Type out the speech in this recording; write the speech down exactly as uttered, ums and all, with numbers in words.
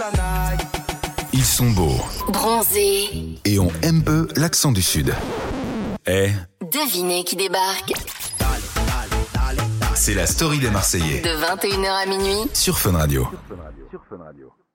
Ils sont beaux. Bronzés. Et on aime peu l'accent du Sud. Eh, Devinez qui débarque. c'est la story des Marseillais. De vingt et une heures à minuit. Sur Fun Radio.